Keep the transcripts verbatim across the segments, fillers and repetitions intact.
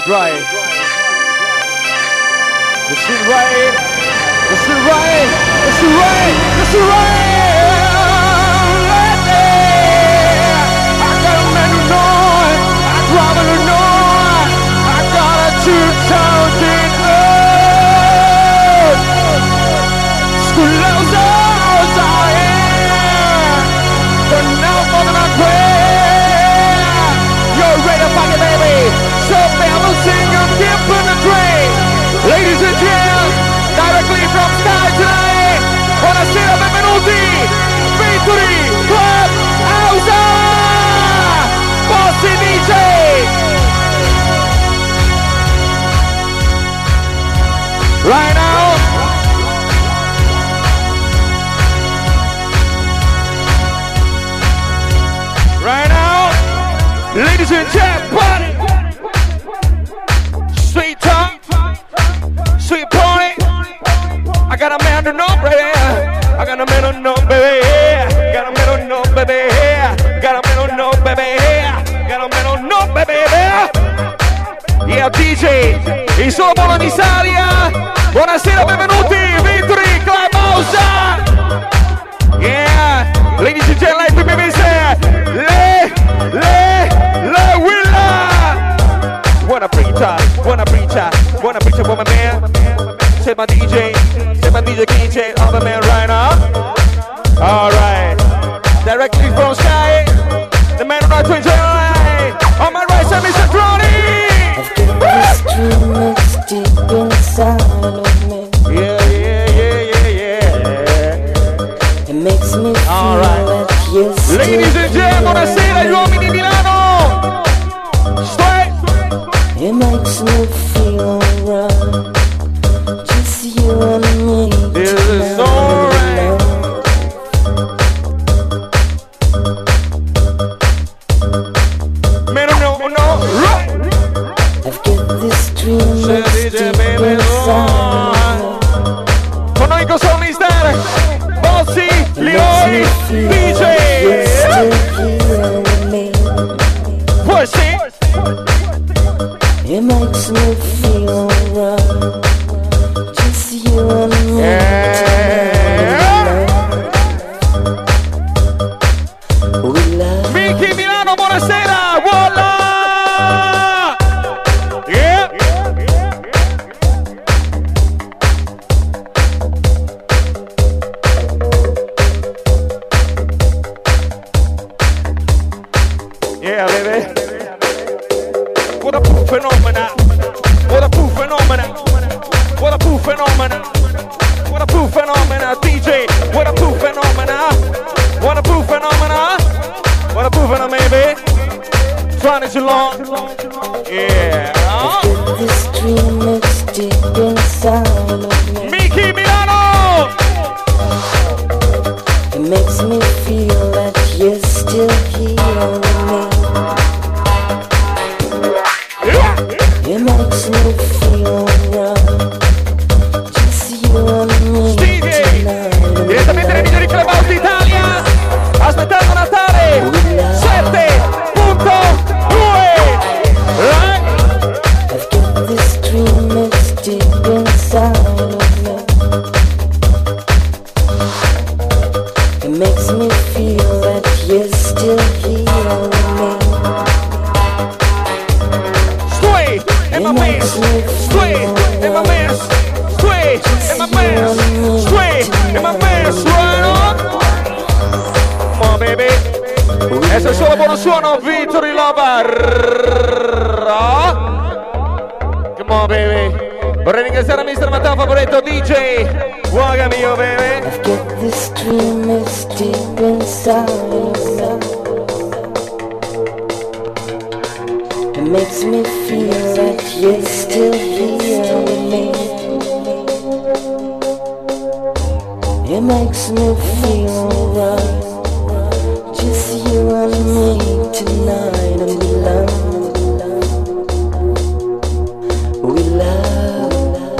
right. This is right. This is right. This is right. This is right. I got a man who knows. I got a who knows. I got a two thousand earth. Schoolhouse hours I am. But now more than I pray. You're ready to fuck it, baby. So baby, sing your gift in the train. Ladies and gentlemen, directly from Sky tonight. Buonasera, benvenuti. Victory Club House. Bossy D J. Right now. Right now. Ladies and gentlemen, sweet talk, sweet party. I got a man to know, baby. I got a man to know, baby. Got a man to know, baby. Got a man to know, baby. Got a man to know, baby. Yeah, D J, il solo buono di Saria. Buonasera, benvenuti, Victory Club House. Yeah, ladies and gentlemen, P P V C. Le, le, le Willa. Buona preacher, buona preacher, buona preacher, buona man. Say my D J, say my D J, D J, other man right now. All right, directly from Sky, the man on our twin channel. On my right side, Mister Tronny. I've got this dream that's deep inside of me. Yeah, yeah, yeah, yeah, yeah. It makes me feel all right. like you're still Ladies and gentlemen, buonasera gli uomini di Milano. Straight. It makes me feel alright. Just you and me. This is alright. Man, no, no, right. I've got this dream that's D J, deep baby, inside of me. Con noi cosa mister Bossy, Leoi, D J. You're still here with me. Push it. It makes me feel alright. Just you and me. Yeah. We love. Mickey Milano, buonasera. Voila. Yeah. Yeah, baby. What a poof phenomena. What a poof phenomena. What a poof phenomena. What a poof phenomena. D J, what a poof phenomena. What a poof phenomena. What a poof phenomena, baby. Trying it too long. Yeah. I've got this dream that's deep inside of me. Mickey Milano. It makes me feel that you're still here with me. It makes me feel alright. Just you and me tonight. Direttamente nei migliori club house d'Italia. Aspettando Natale. sette punto due. Right? I've got this dream that's deep inside of me. It makes me feel that you're still here with me. Sway in my man. Sway in my man. Sway in my man. Sway in my man. Sway on. Come on, baby. Questo è solo buono suono. Victory Lover. Come on, baby. Vorrei ringraziare mister Matteo Favoretto, D J. Buona mio, baby. I've got this dream that's deep inside of me. It makes me feel like you're still here with me. It makes me feel alright. Just you and me tonight, and we love, we love.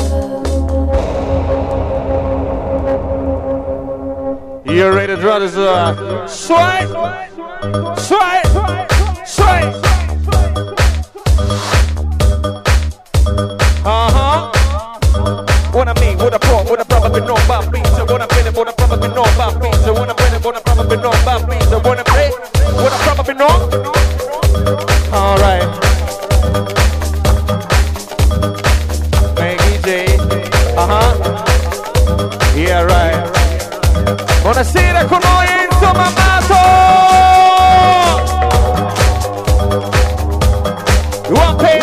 You ready to draw this uh, swipe? Swipe! Swipe! I mean? What I brought, what I probably know about me. So what I been, what I probably know about me. So what I been, what I probably know about me. So what I play, what I probably know. All right. Maggie J. Uh huh. Yeah, right. Buonasera con noi Enzo Mammato. One pay.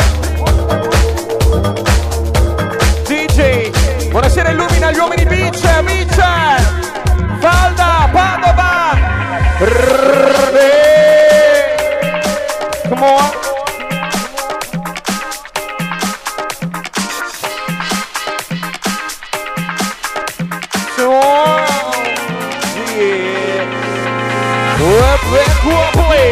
D J. Buonasera, illumina gli uomini beach, beach. Falda, Padova. Come on. So yeah. Well, play.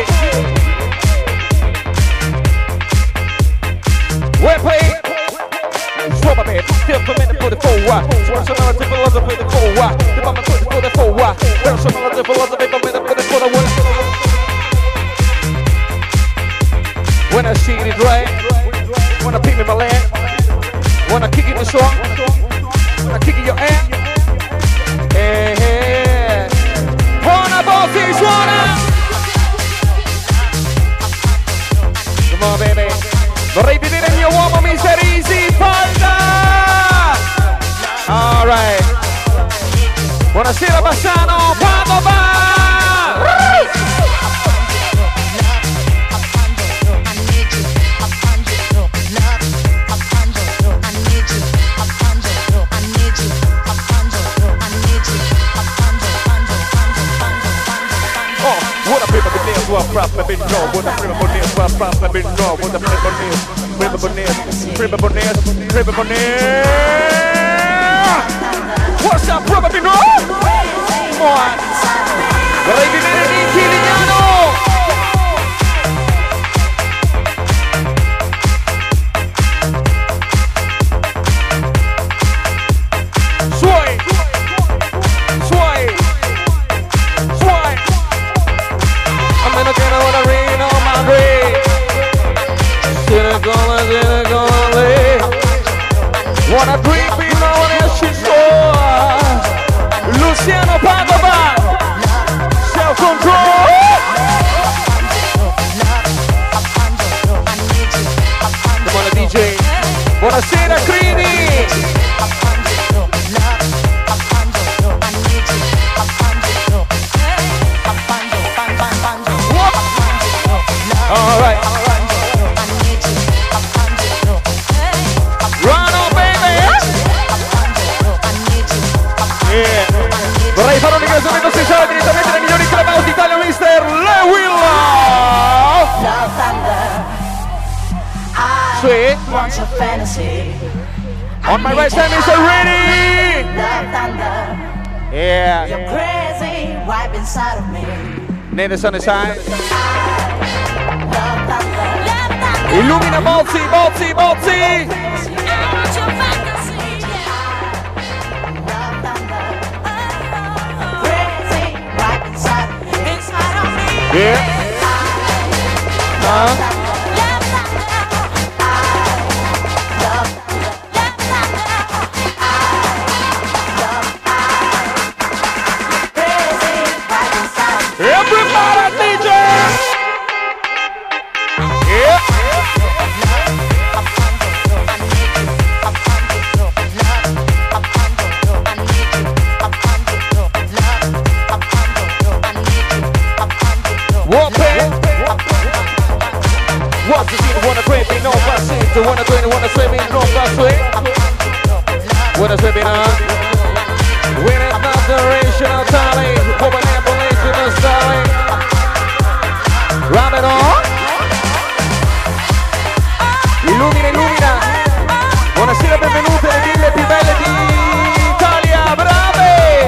Well, play. Swap up here, still for minute for the four wide. Swap some other philosophy for the four wide. The bomb for the four wide. Well, some other philosophy for minute for the four wide. When I see it right, when I pick me my land, when I kick it the song, when I kick it your ass. Hey, hey. Buona botti, suona! Come on, baby. Vorrei vedere il mio uomo mister Easy Falda! All right. Buonasera Bassano, Padova! What probably know, what I'm prima bonnet, what probably know, what I'm prima bonnet, prima bonnet, prima bonnet, prima bonnet. What's up, probably know? Come on. Vorrei vedere Nicky Lignano. Suoi, suoi, suoi. I'm gonna get on the rain on my grave. Sinner gonna, sinner gonna lay. Wanna drink me now and she's sore. Luciano Padova. Self-control. Come on, D J. Buonasera, Crini. All right. Run on, baby. Yeah. Vorrei fare un ringraziamento speciale direttamente dai migliori clubhouse d'Italia, mister Lewilla. Sweet. On my right side, mister Ready. Yeah. You're crazy, wipe inside of me. Need the sun side. Illumina Bozzi, Bozzi, Bozzi! Yeah. Huh? Everybody D J! Yeah. What's the scene? Wanna grab me? No, but see. The wanna grab me, wanna swim me? No, but sweet. Wanna swim me now? When it's not generational talent, woman ambulation is starting. Rub it on. Illumina, illumina. Buonasera, benvenute le ville più belle d'Italia, brave!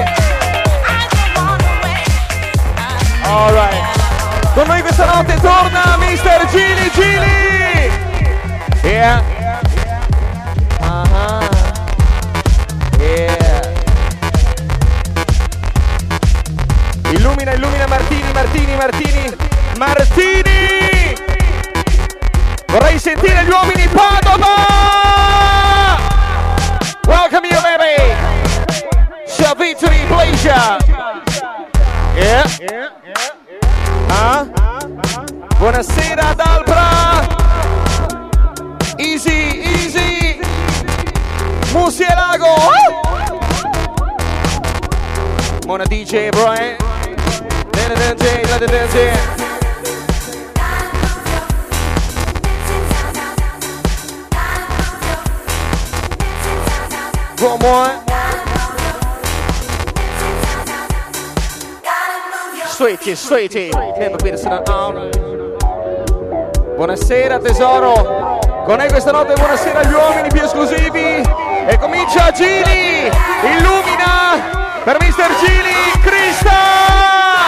Alright. Con noi questa notte torna mister Gili Gili! Yeah. Uh-huh. Yeah. Illumina, illumina Martini, Martini, Martini, Martini! Vorrei sentire gli uomini Padova! Welcome you, baby! pleasure. Yeah. Ah? Buonasera Dalbra. Easy, easy. Musielago. Buona D J, bro. Eh? Let it dance. One more. Sweetie, sweetie. Buonasera tesoro. Con noi questa notte buonasera agli uomini più esclusivi. E comincia Gili. Illumina per mister Gili Crista.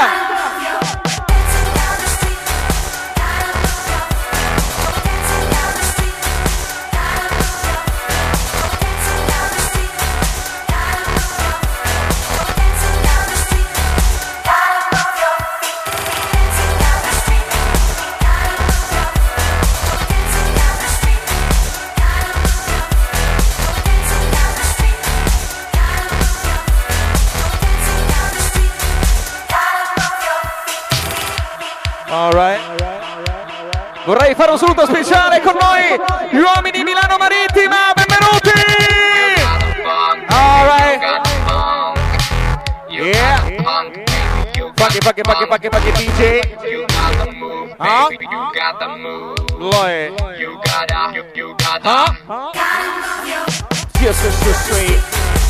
Vorrei fare un saluto speciale con noi, gli uomini di Milano Marittima, benvenuti! Alright. Yeah. Funky, funky, funky, funky, funky D J. Huh? Lloyd. Huh? Just so sweet.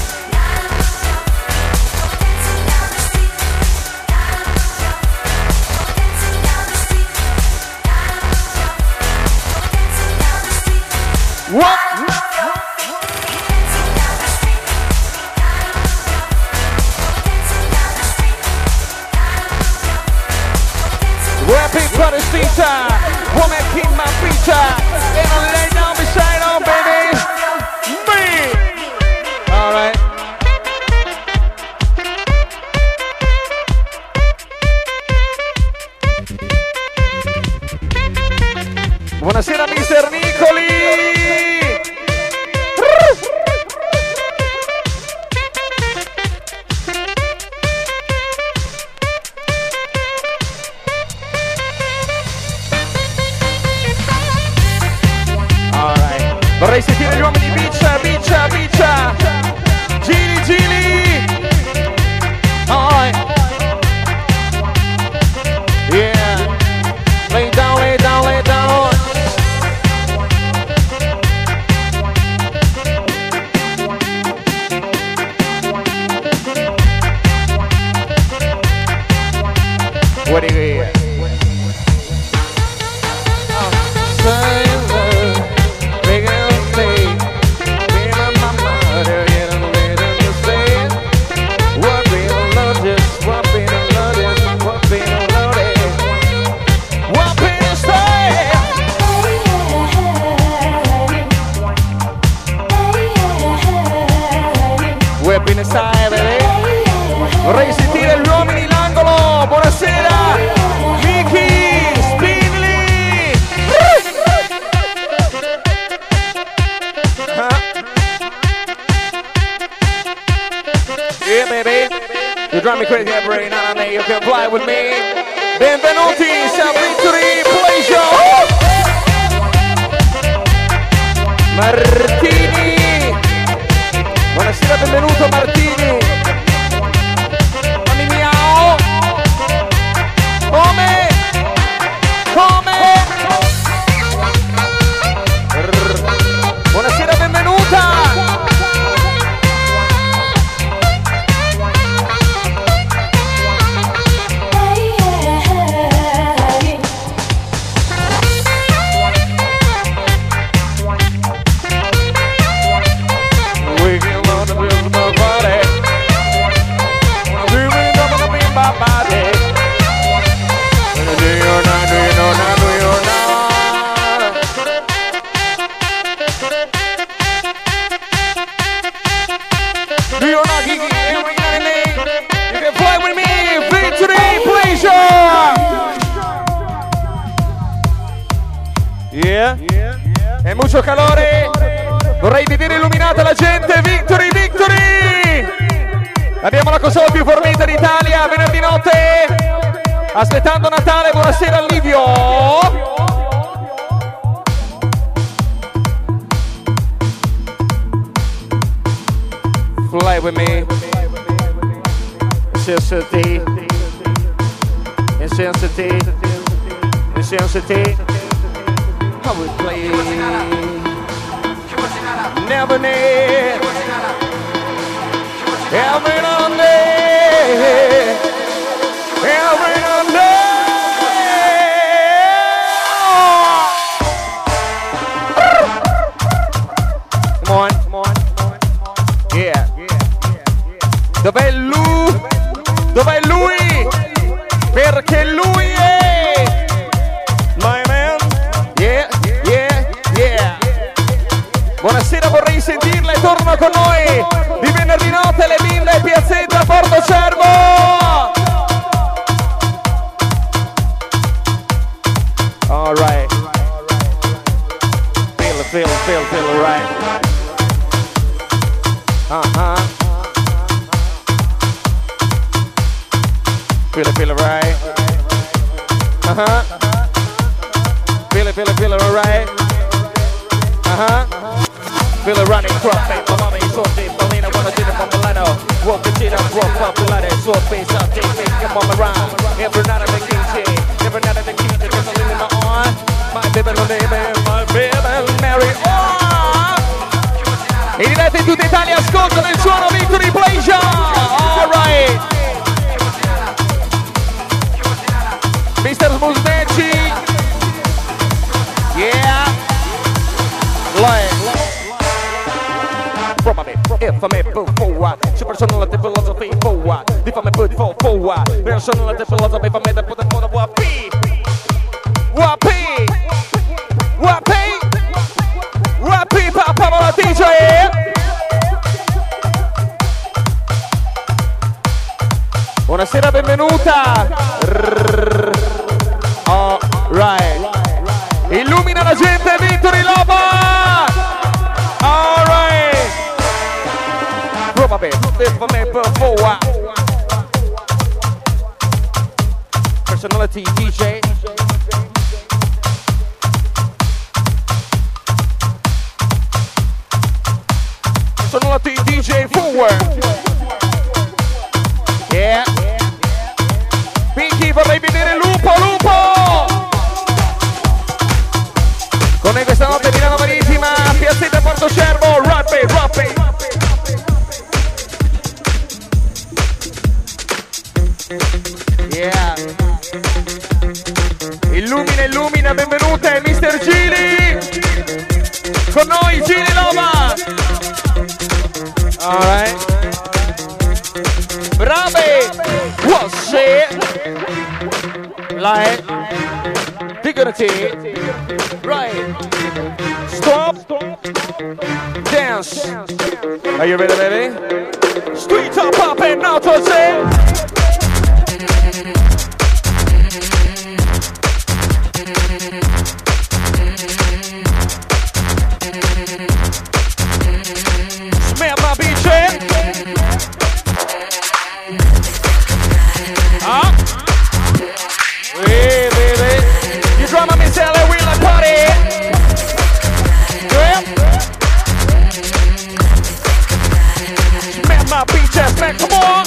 What? Rapping for the teacher, woman keep my feature, and I lay down beside her, baby. Me. All right. Buonasera, mister Nicoli. Vorrei sentire gli uomini biccia, biccia, biccia. Gili, gili. Alright. Yeah. Lay down, lay down, lay down. What do you hear? Vorrei sentire gli uomini l'angolo. Buonasera Vicky Spinley. Yeah baby, you drive me crazy every night and day. You can fly with me. Benvenuti, San Victory Pleasure. Martini. Buonasera, benvenuto Martini. Come? Come? Buonasera, benvenuta! We can learn to build my body. We will never be my body. Do you not, do you not, do you not? Do you not, Kiki? Every night and day, you can fly with me. Victory, pleasure. Yeah. E mucho calore. Vorrei vedere illuminata la gente. Victory, victory. Abbiamo la la console più fornita d'Italia, venerdì notte, aspettando Natale. Buonasera Livio. Fly with me. Intensity. Intensity. Intensity. How we play. Never need. Every Monday. Every Monday. Come on, come on. Yeah. Dov'è lui? Dov'è lui? Perché lui è my man. Yeah, yeah, yeah. Buonasera, vorrei sentirla e torna con noi di venerdì notte le Bimbe, Piazzetta, Porto Cervo. All right. Feel it, feel it, feel it, feel it, right. Uh-huh. Feel it, feel it, right. Uh-huh. Feel it, feel it, feel it, right. Uh-huh. Feel it running, crop, paper, mommy, sorti, bambina, buona gira, bambolano. Walk the gira, walk, popolare, sort face, I'll take, take, come on around. Every night I'm a king, every night I'm a king, there's a limit in my arm. My baby, no name, my baby, Mary, oh! In diretta in tutta Italia, ascolta nel suono Victory Pleasure. All right. mister Musnecci. Yeah. Like. From me, if I'm a boot for what? Personality philosophy for what? If I'm a boot for for what? Personality philosophy for me to put the phone of what P. What P. What P. What P. Papa la D J. Buonasera, benvenuta. All right. Illumina la gente, Victory Loba. All right. Probably for me before. Personality D J. Personality D J forward. Yeah. Pinky, vorrei vedere Lupo, Lupo! Con noi questa notte Milano Marittima, Piazzetta Porto Cervo, Rappi, Rappi! Yeah. Illumina, illumina, benvenute, mister Gili! Con noi Gili Loma! Alright. Brave! What's it? Like dignity. Right. Stop. Dance. Are you ready, baby? Streets are popping out to say. Smell my beach. Ah. Hey, baby. You drama me sell it, we like party. Yeah. Smack my beach ass, man, come on.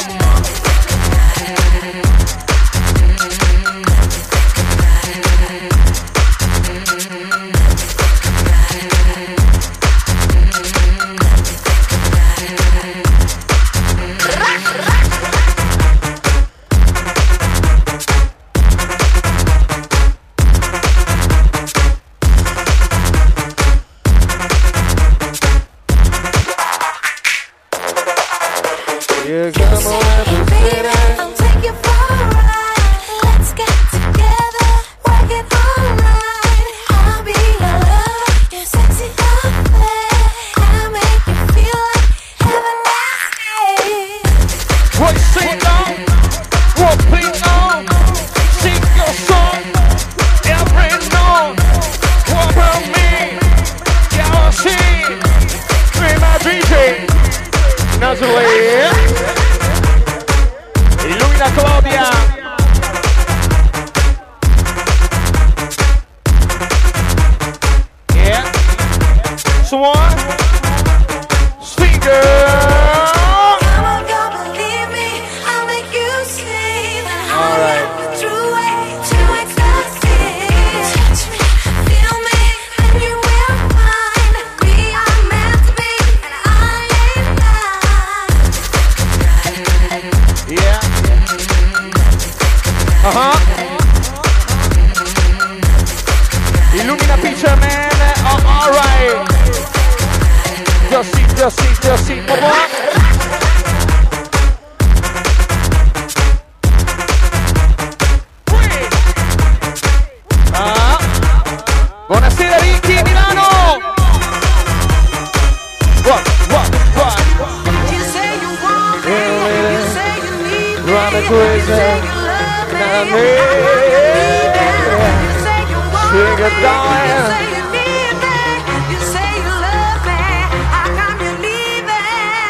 You come on, baby, I'll take you for a ride. Let's get together, work it all right. I'll be your love, your sexy affair. I'll make you feel like heaven last day. What sing on? What play on? Sing your song, every note. What about me? Yeah, I'll see. Be my D J. Naturally. Marina, Claudia. Yeah. Swan. Singer. All right. Uh-huh. Illumina Picture Man. Oh, all right. Just see, just see, just see. Come on. Ah. Buonasera Ricky Milano. What, what, what? You say you want me. You say you need me. Running crazy. I need you say you want me, you say you need me, you say you love me, how come you leave me?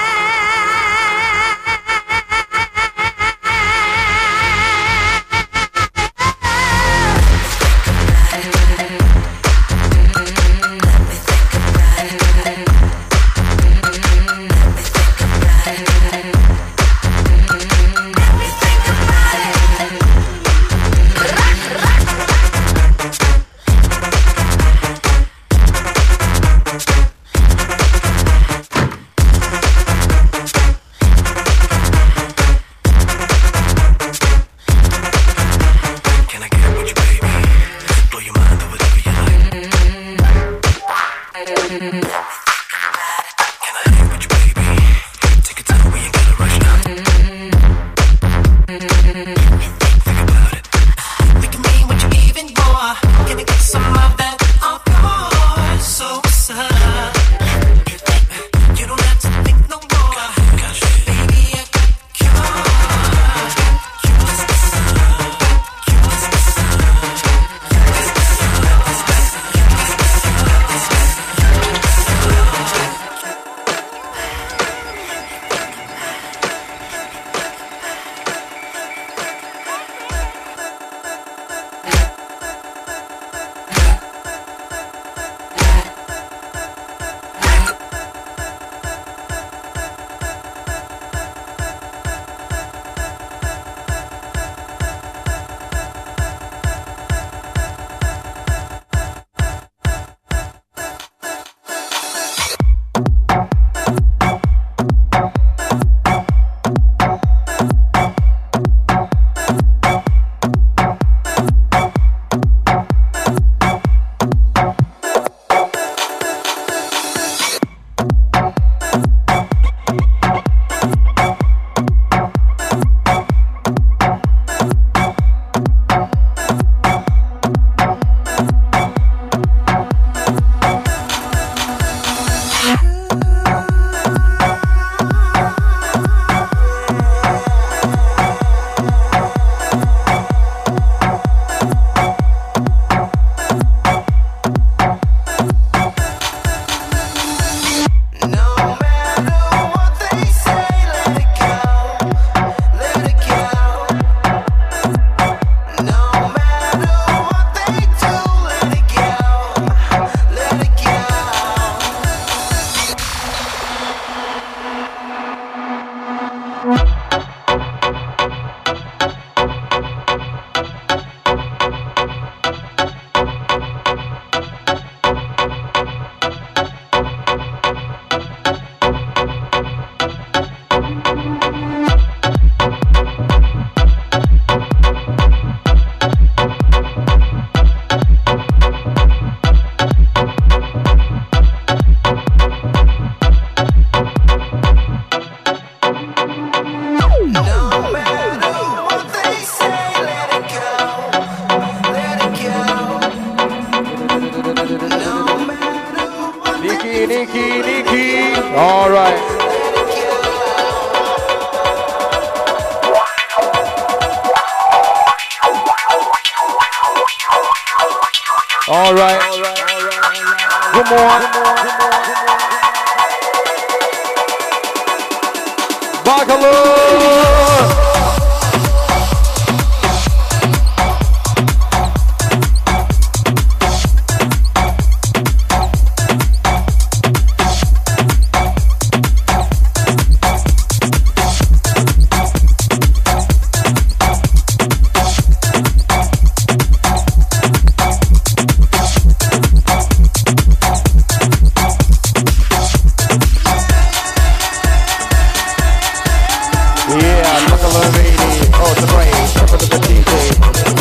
All right. All right. Good morning. Bagaloo. Yeah, look at the lady. Oh, the brain. Look at the D J.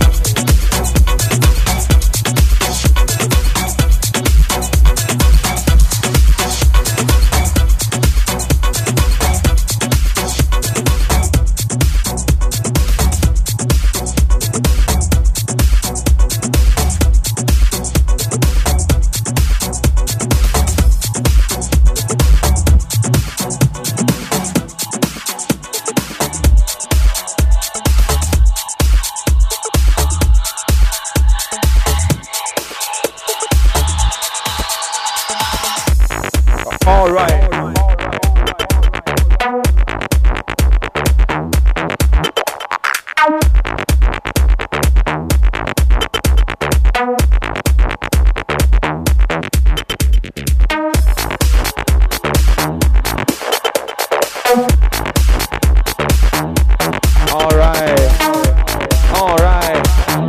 All right. All right. All right.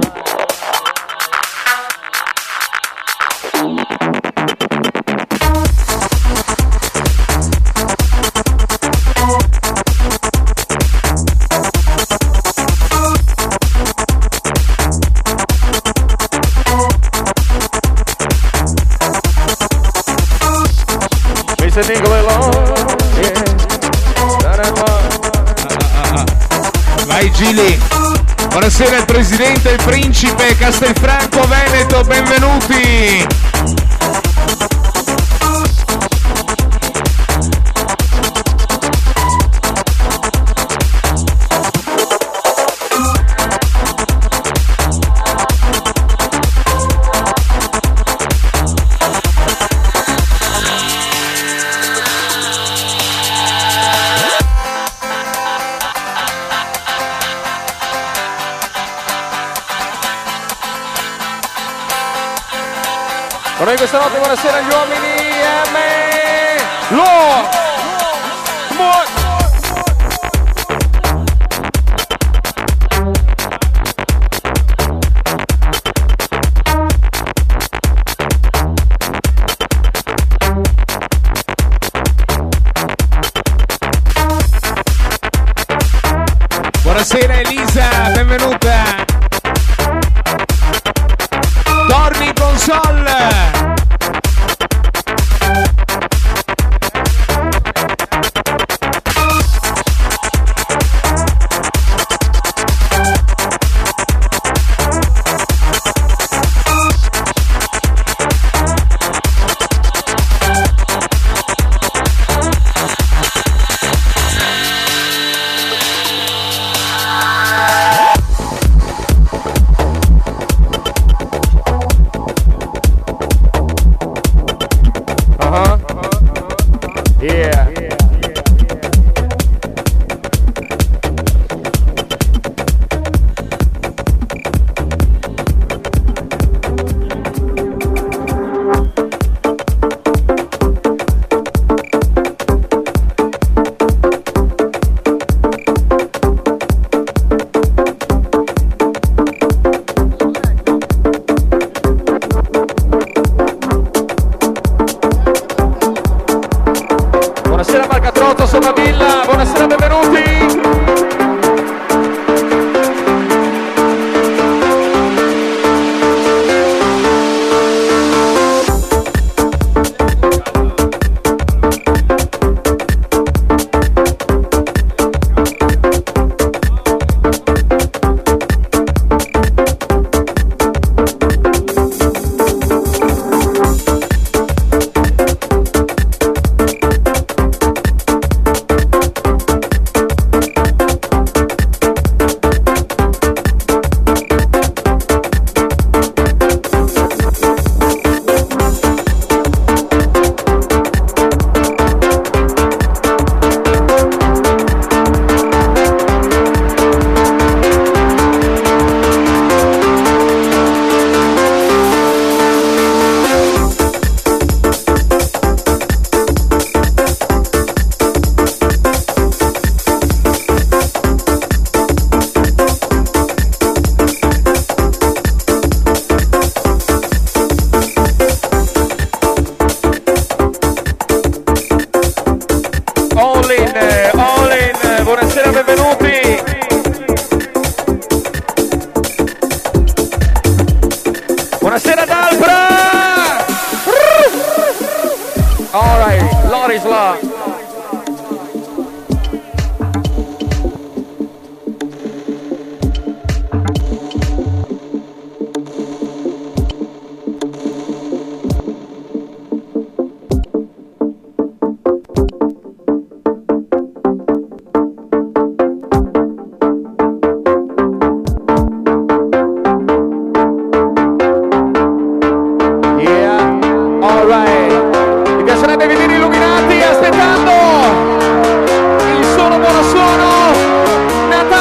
Vai Gili. Buonasera il presidente e il principe Castelfranco Veneto, benvenuti. Con noi questa notte, buonasera agli uomini M. Lo Mo- Buonasera Elisa, benvenuta. Torni console.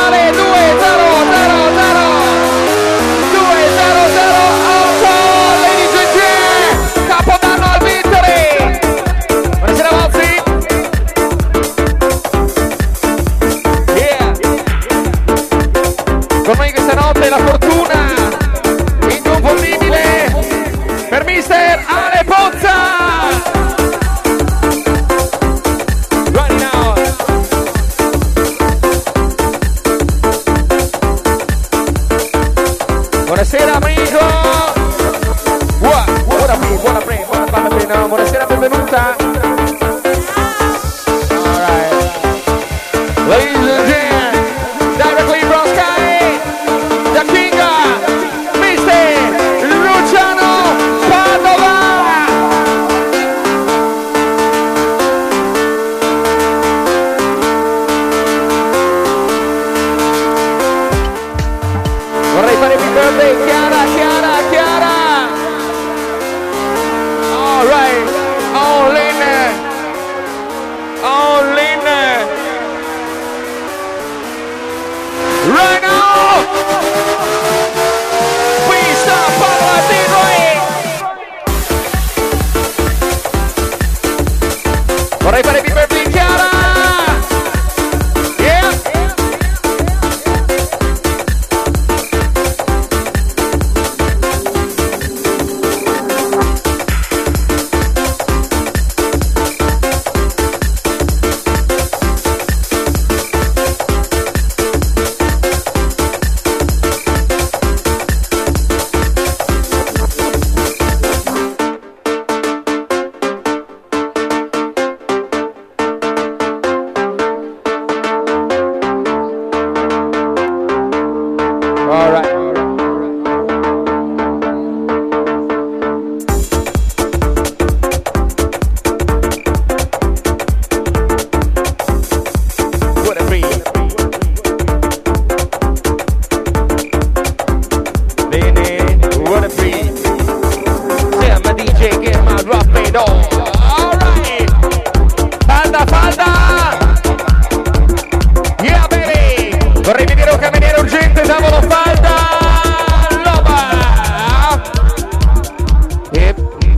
Natale due zero zero zero due zero zero otto, ladies and gentlemen, Capodanno al Vittory. Buonasera Mozzi. Yeah. Con noi questa notte la fortuna inconfondibile per mister Ale Pozza. Right now. Buonasera amico. Buona, buona pre, buona pre, buona buona pre, no, buonasera, benvenuta. Alright. Ladies and gentlemen, directly from Sky, the Kinga, mister Luciano Padova. Vorrei fare il birthday, Chiara, Chiara, Chiara. All right, all in, all in. Right now, we start Paola T-Roy. Vorrei fare il birthday, Chiara. Yeah. All right. What a breeze. Bene, what a breeze. Yeah, my D J, get my drop it on. All right. Falda, falda. Yeah, baby. Vorrei vedere un cameriere urgente, tavolo falda. Loba. Yep.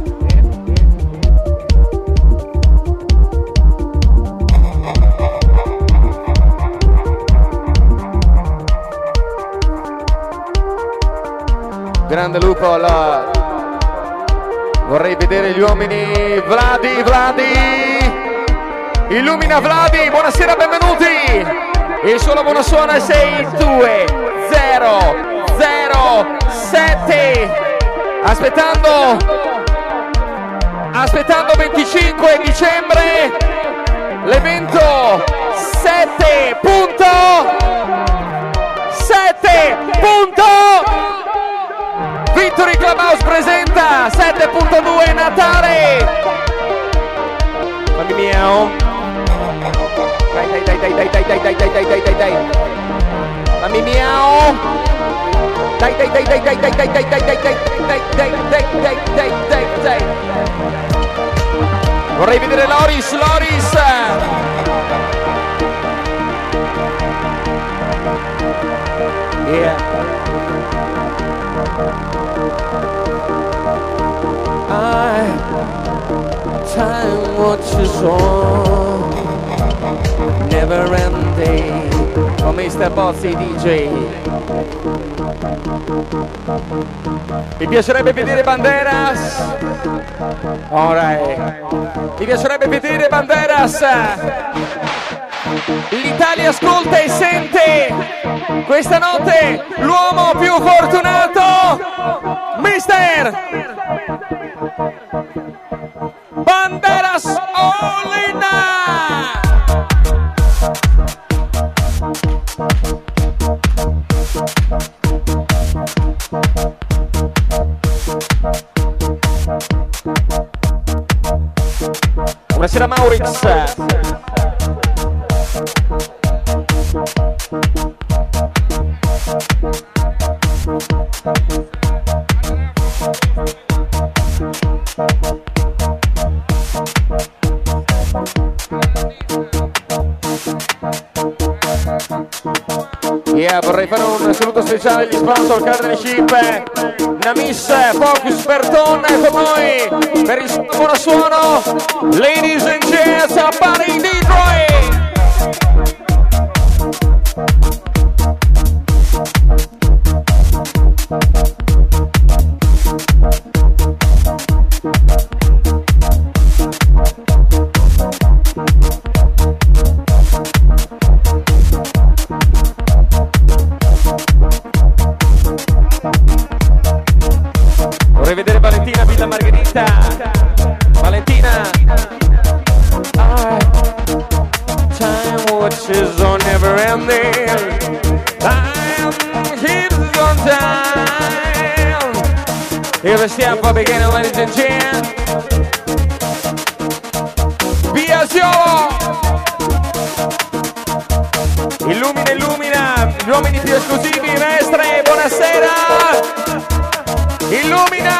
Grande lupo, la... vorrei vedere gli uomini. Vladi, Vladi. Illumina Vladi, buonasera, benvenuti. Il solo buono suono è sei due zero zero sette. Aspettando Aspettando venticinque dicembre l'evento sette punto sette punto Victory Clubhouse presenta sette punto due Natale. Fammi miau. Dai dai dai dai dai dai dai dai dai dai dai dai. Fammi miau. Dai dai dai dai dai dai dai dai dai dai dai dai dai dai dai dai dai dai. Vorrei vedere Loris, Loris. Yeah. I time watches on. Never ending. Con mister Bozzi D J. Mi piacerebbe vedere Banderas. Alright. Mi piacerebbe vedere Banderas. L'Italia ascolta e sente. Questa notte l'uomo più fortunato, mister Banderas Olina. Buonasera Maurix. Yeah, vorrei fare un saluto speciale agli sponsor Cardinalship, Namis, Focus, Berton con noi per il buon suono. Ladies and gents, a party in Detroit. Vorrei vedere Valentina Villa Margherita. Valentina. Time watches on never ending. Time keeps on time. Here we stand for beginning, ladies and gents. Biasio. Illumina, illumina. Gli uomini più esclusivi, mestre, buonasera. Illumina.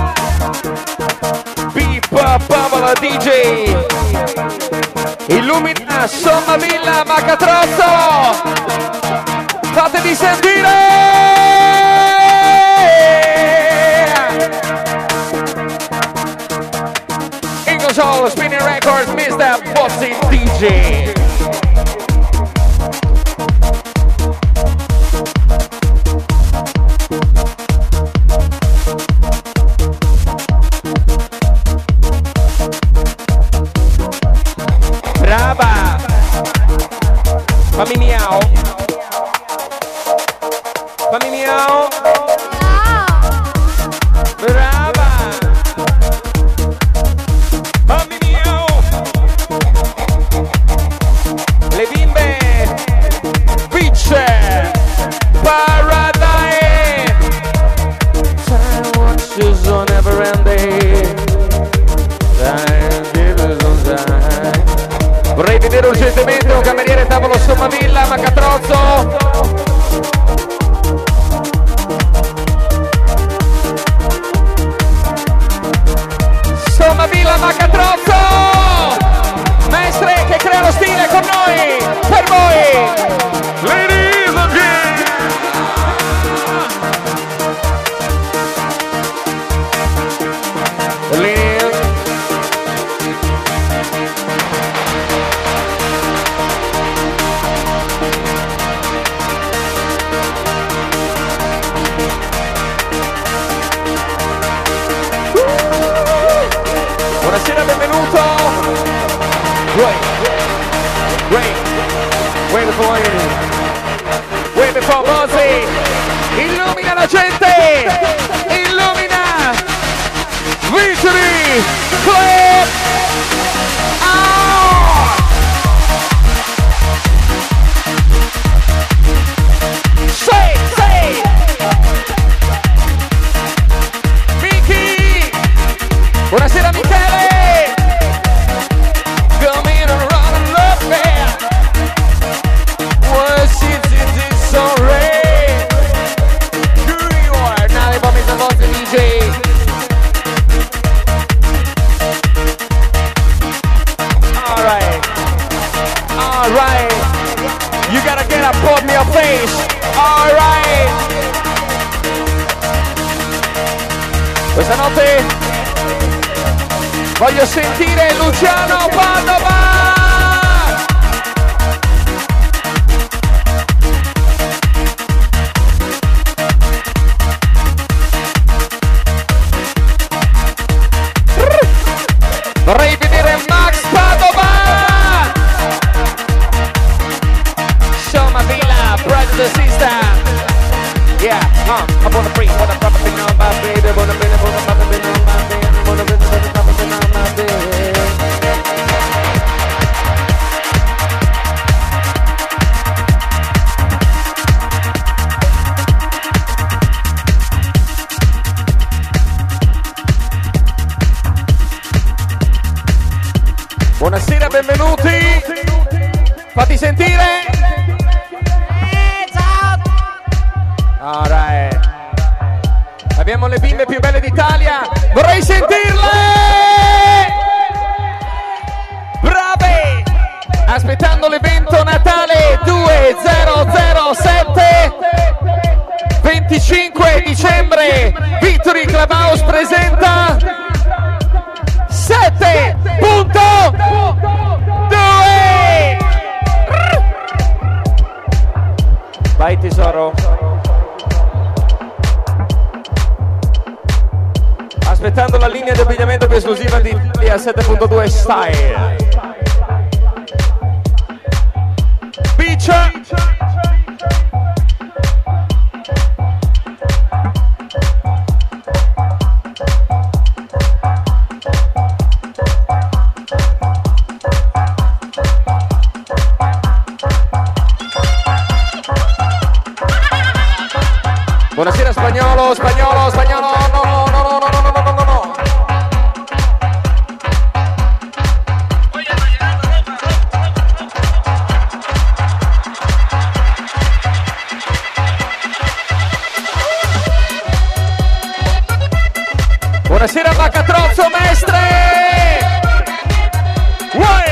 Beep, Paola D J. Illumina, Sommavilla, Macatrozzo. Fatevi sentire. In console, Spinning Records, mister Bossy D J. Brava. Fammi miau. Fammi miau. Brava. Fammi miau. Le bimbe. Beach. Paradise. Time watches on never ending. Time gives on time. Vorrei vedere urgentemente un cameriere tavolo Sommavilla, Macatrozzo. Sommavilla, Macatrozzo. Maestre che creano stile con noi, per voi. Ladies and gentlemen. Ladies. Buonasera, benvenuto. Wait, wait, wait before you. Wait before Bossy. Illumina la gente. Illumina. Victory Club. Oh! Say, say. Mickey. Buonasera Michele. Come in and run and love me. Was it this already? Who you are? Now they bought me some Bossy D J. Alright. Alright. You gotta get up on your face. Alright. Questa notte voglio sentire Luciano Padova! Vorrei vedere Max Padova! Sommavilla, brother and sister! Yeah, uh, I wanna bring, wanna probably know my baby, wanna bring, wanna probably know my baby, wanna bring, wanna probably know my baby. Buonasera, benvenuti! Fatti sentire! Alright. Abbiamo le bimbe più belle d'Italia. Vorrei sentirle! Brave! Aspettando l'evento Natale duemilasette. settembre Victory Clubhouse presenta sette punto due. Vai tesoro. Aspettando la linea di abbigliamento più esclusiva di, di A sette punto due Style. Beach. Buonasera spagnolo, spagnolo, spagnolo, no, no, no, no, no, no, no, no, no. Buonasera Macatrozzo, mestre! Uè!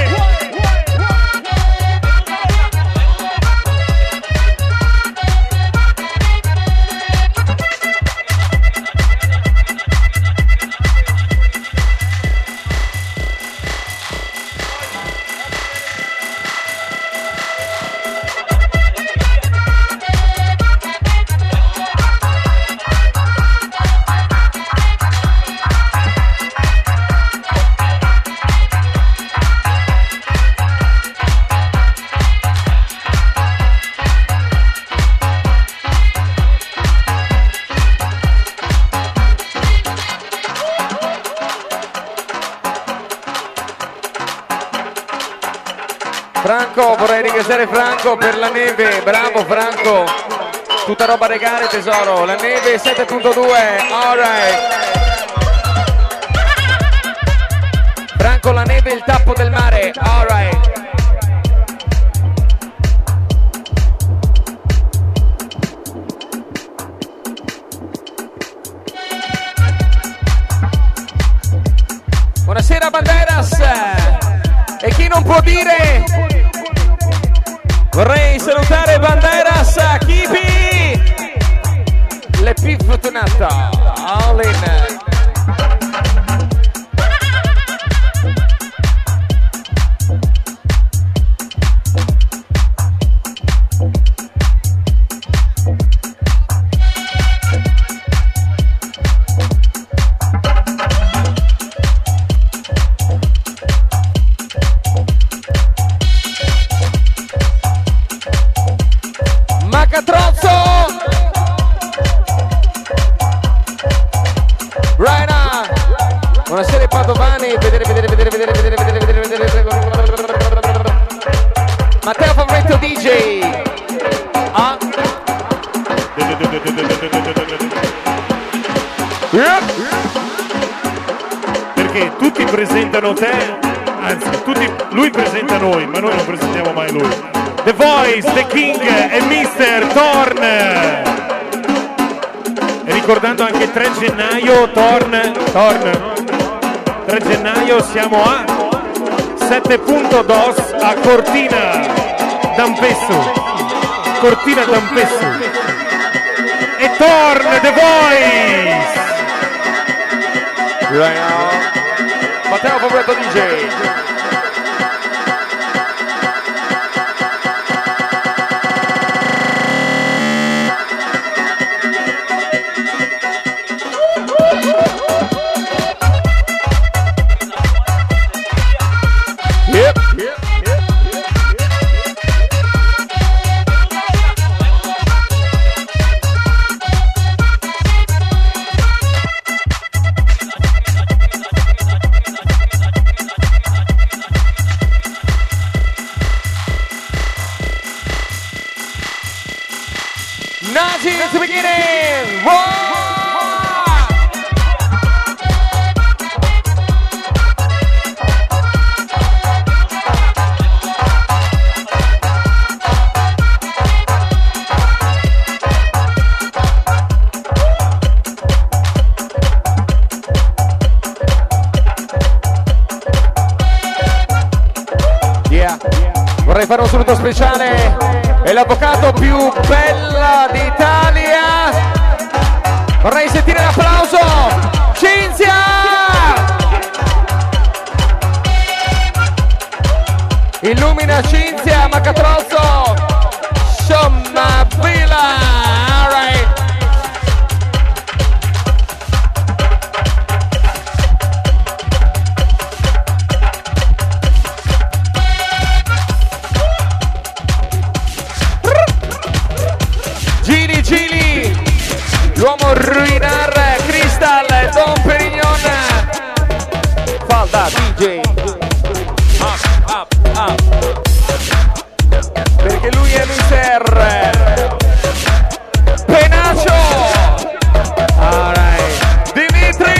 Franco, vorrei ringraziare Franco per la neve, bravo Franco, tutta roba regale tesoro, la neve sette punto due, alright. Franco, la neve, il tappo del mare, alright. Buonasera Banderas, e chi non può dire... Vorrei salutare Banderas, Kipi, le più fortunata, all in. Buonasera Padovani, vedere, vedere, vedere, vedere, vedere, vedere, vedere, vedere. Matteo Favoretto D J. Ah. Perché tutti presentano te, anzi, tutti, lui presenta noi, ma noi non presentiamo mai lui. The Voice, The King e mister Thorn. E ricordando anche tre gennaio, Thorn, Thorn. tre gennaio siamo a sette punto dos a Cortina d'Ampezzo, Cortina d'Ampezzo, e Thorn, The Voice. Right now. Matteo Favoretto D J. Nazi to beginning! Whoa! Yeah. Vorrei fare un saluto speciale. È l'avvocato più bella d'Italia, Vorrei sentire l'applauso. Cinzia! Illumina Cinzia Macatrozzo. Somma Villa. All right. Gili Gili, l'uomo ruinar Crystal, Don Perignon, falda D J, up, up, up, perché lui è mister Penaccio, all right, Dimitri.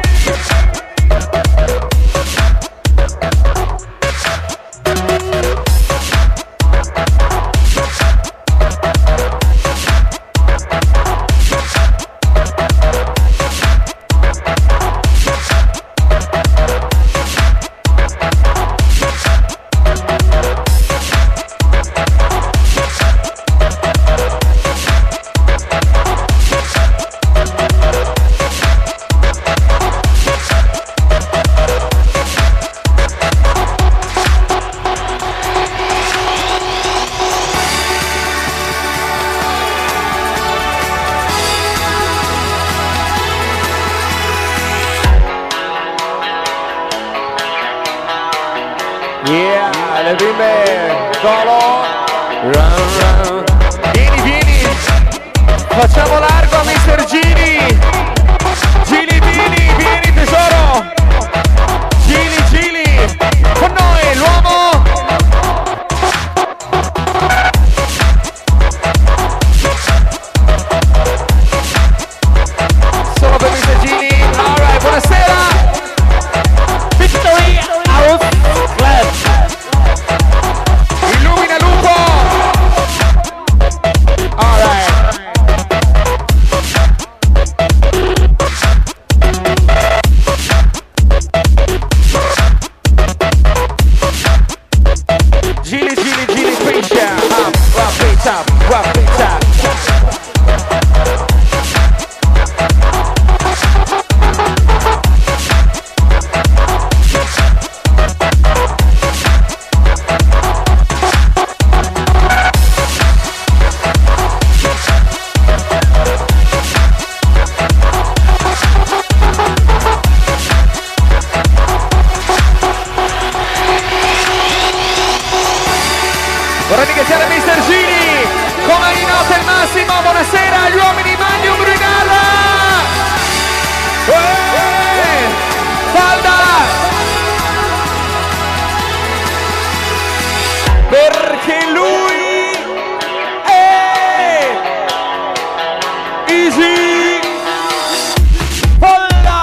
Yeah, le bimbe, solo, run, run. Vieni, vieni, facciamo largo a mister Gili. Gili, vieni, vieni tesoro. Gili, Gili, con noi l'uomo. Solo per mister Gili, all right, buonasera. Victory House Club. Illumina Lupo. All right. Gili, Gili, Gili, piscia. Up, up, it up, up, it up. Vorrei ringraziare mister Gili, come in nota il massimo, buonasera agli uomini Magnum Brigada! Uè! Falda! Perché lui è Easy Falda!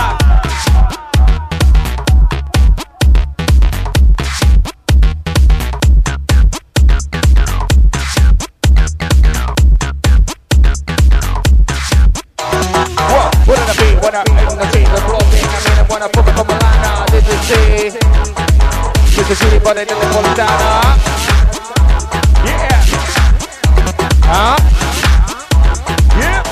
Wouldn't it be when I in the team was blowing? I mean, I wanna put it from Milano, did you see? Did you see anybody in the Montana? Yeah. Huh? Yeah.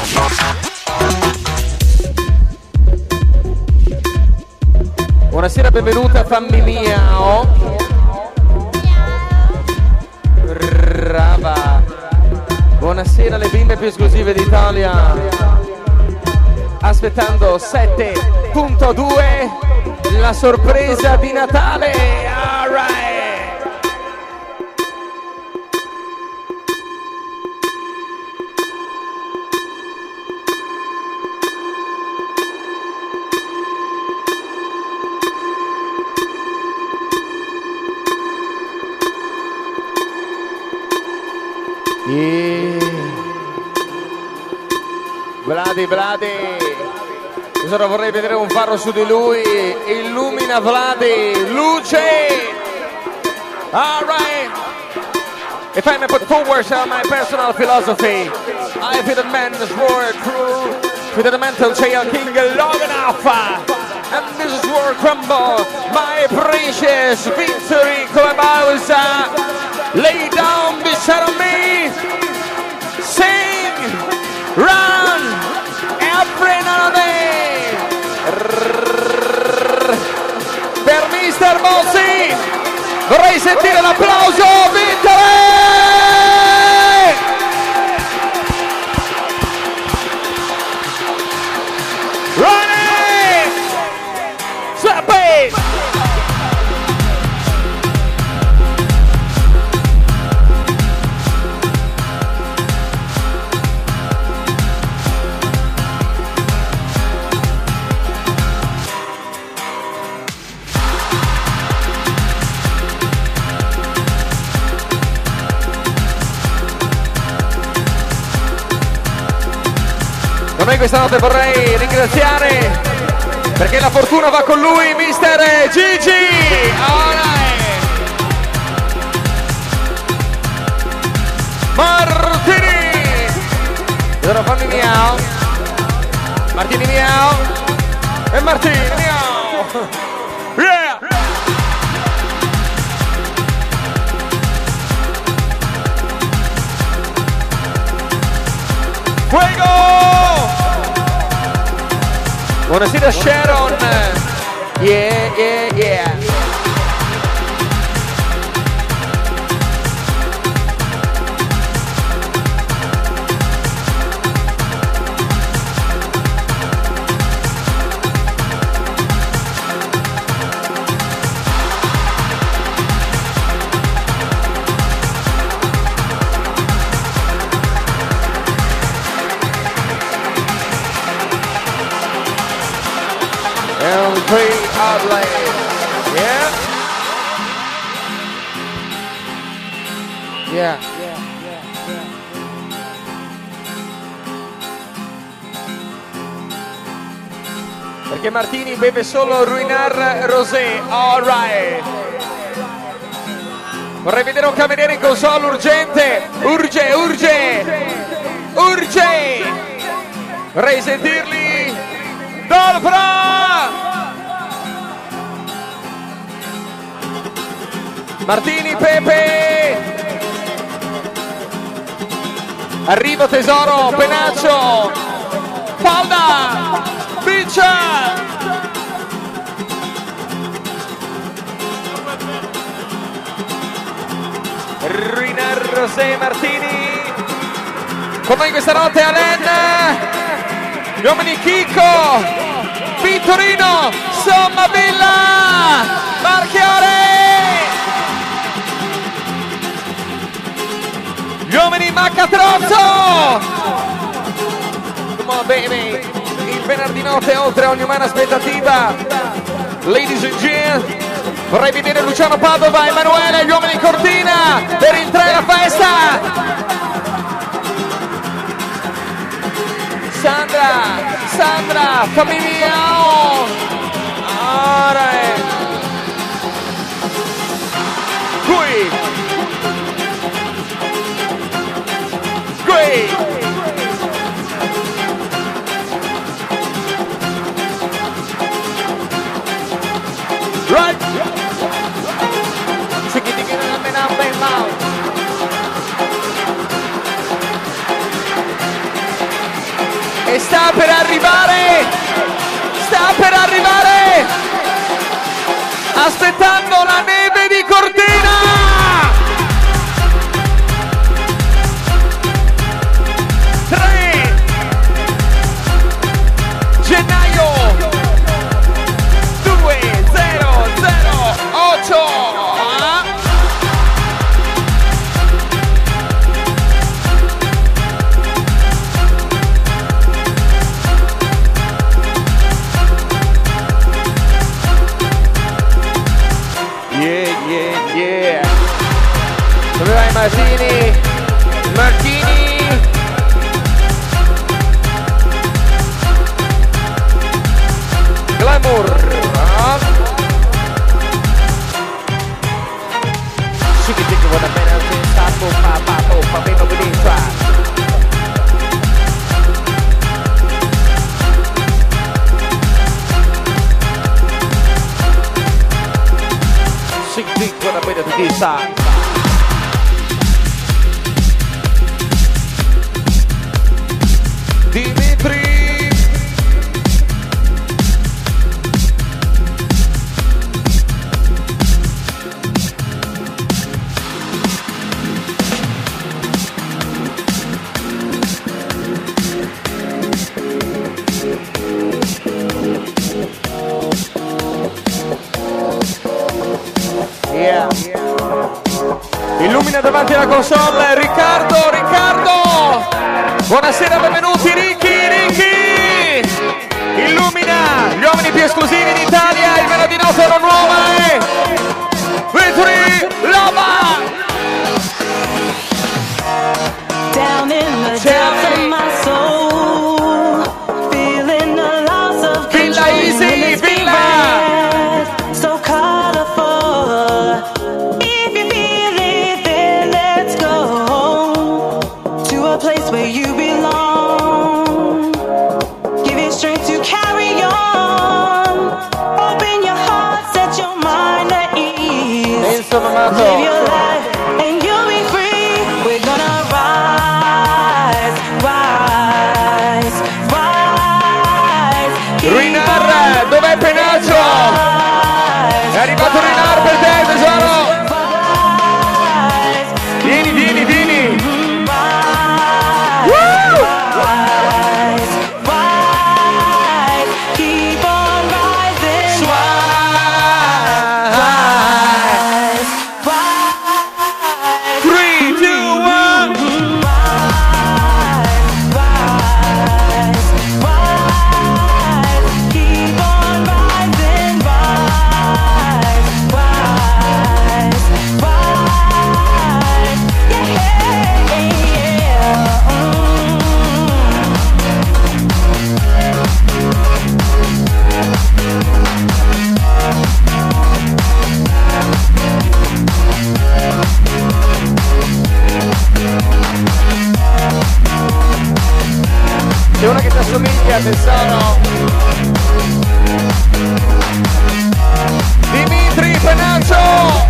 Buonasera, benvenuta fammi miao. Brava. Buonasera, le bimbe più esclusive d'Italia. Aspettando sette punto due, la sorpresa di Natale. All right. Yeah. Vladi, Vladi. Ora vorrei vedere un faro su di lui. Illumina Vladi. Luce. All right. If I may put forward my personal philosophy, I feel the man's word true. Feel the mental chair king long enough. And this is where crumble my precious victory come about. Lay down beside me. Sing. Run. And sentire l'applauso, Vitale! Ronnie! Sappi! Con noi questa notte vorrei ringraziare, perché la fortuna va con lui, mister Gigi! Alright. Martini! Allora fammi miau. Martini miau. E Martini miau. Yeah! Fuego! Buonasera Sharon. Yeah, yeah, yeah. Free outlet. Yeah. Yeah. Perché Martini beve solo Ruinar Rosé. All right. Vorrei vedere un cameriere in console urgente. Urge, urge. Urge. Vorrei sentirli. Dolfra. Martini, Pepe! Arrivo tesoro, Penaccio! Falda! Biccia! Ruinar Rosé Martini! Con noi questa notte Alen! Gli uomini Chicco! Vittorino! Sommavilla! Marchiore! Gli uomini Maccatrozzo! Come on baby! Il venerdì notte oltre ogni umana aspettativa. Ladies and gentlemen, vorrei vedere Luciano Padova, Emanuele, gli uomini Cortina per il tre la festa! Sandra! Sandra! Fammi miau! Alright! Qui! Great! Right! Chicky chicky me now bang mouth. E sta per arrivare! Sta per arrivare! Aspettando la neve di Cortina! Martini, Martini, Glamour, she can think of what a man else is, stop, pop, pop, pop, pop, pop, pop, pop, she can think what a man else is. Dimitri, alla console, Riccardo, Riccardo. Buonasera, benvenuti, Ricky, Ricky. Illumina gli uomini più esclusivi d'Italia, il venerdì notte ora nuova è Victory Lava. Down in the depths of my soul, feeling the loss of control. Villa Easy, Villa. So colorful. If you feel it, then let's go to a place where you belong. Give it strength to carry on. Open your heart, set your mind at ease. Live your life and you'll be free. We're gonna rise, rise, rise. Rinar, dov'è Penaccio? È arrivato Rinar per te, tesoro. Vieni, vieni, vieni. Woo! Rise, rise, keep on rising. Rise, rise, three, two, one. rise, rise, keep on rising. Rise, rise, rise, yeah, yeah. C'è una che ti assomiglia, tesoro. Dimitri Penaccio.